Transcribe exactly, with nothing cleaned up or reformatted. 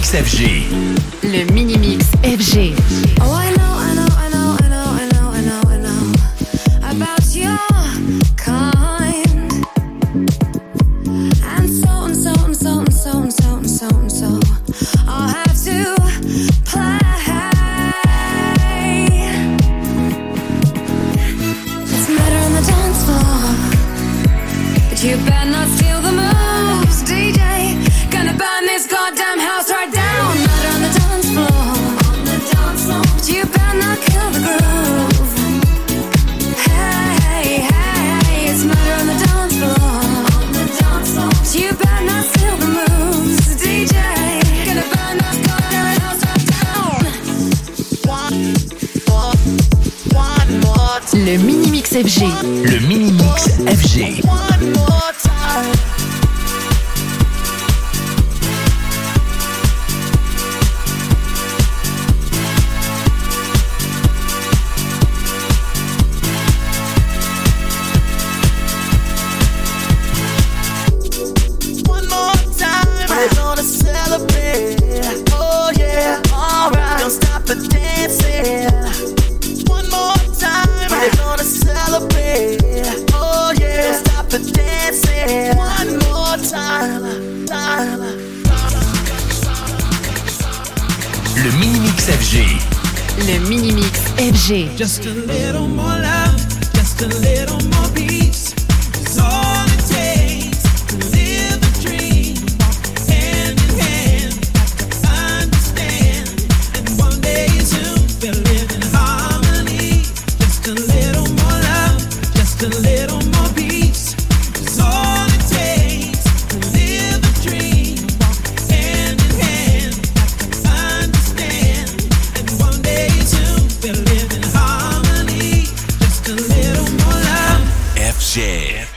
Mix F G. Le Mini Mix F G. Oh, I know, I know, I know, I know, I know, I know, I know about your kind. And so and so and so and so and so and so and so I'll have to play. It's murder on the dance floor, but you better not steal the moves, D J. Gonna burn this goddamn house right down. Murder on the dance floor, on the dance floor, but you better not kill the groove. Hey, hey, it's murder on the dance floor, on the dance floor, but you better not steal the moves, D J. Gonna burn this goddamn house right down. One more, one more time. Le Mini Mix F G. Le Mini Mix F G. One more time. Le Mini Mix F G. Le Mini Mix F G. Just a little more love, just a little more peace. It's all it takes to live the dream. Hand in hand, understand. And one day soon we'll live in harmony. Just a little more love, just a little more peace. It's all it takes to live the dream. Hand in hand, understand. And one day soon we'll live in harmony. Just a little more love. F G.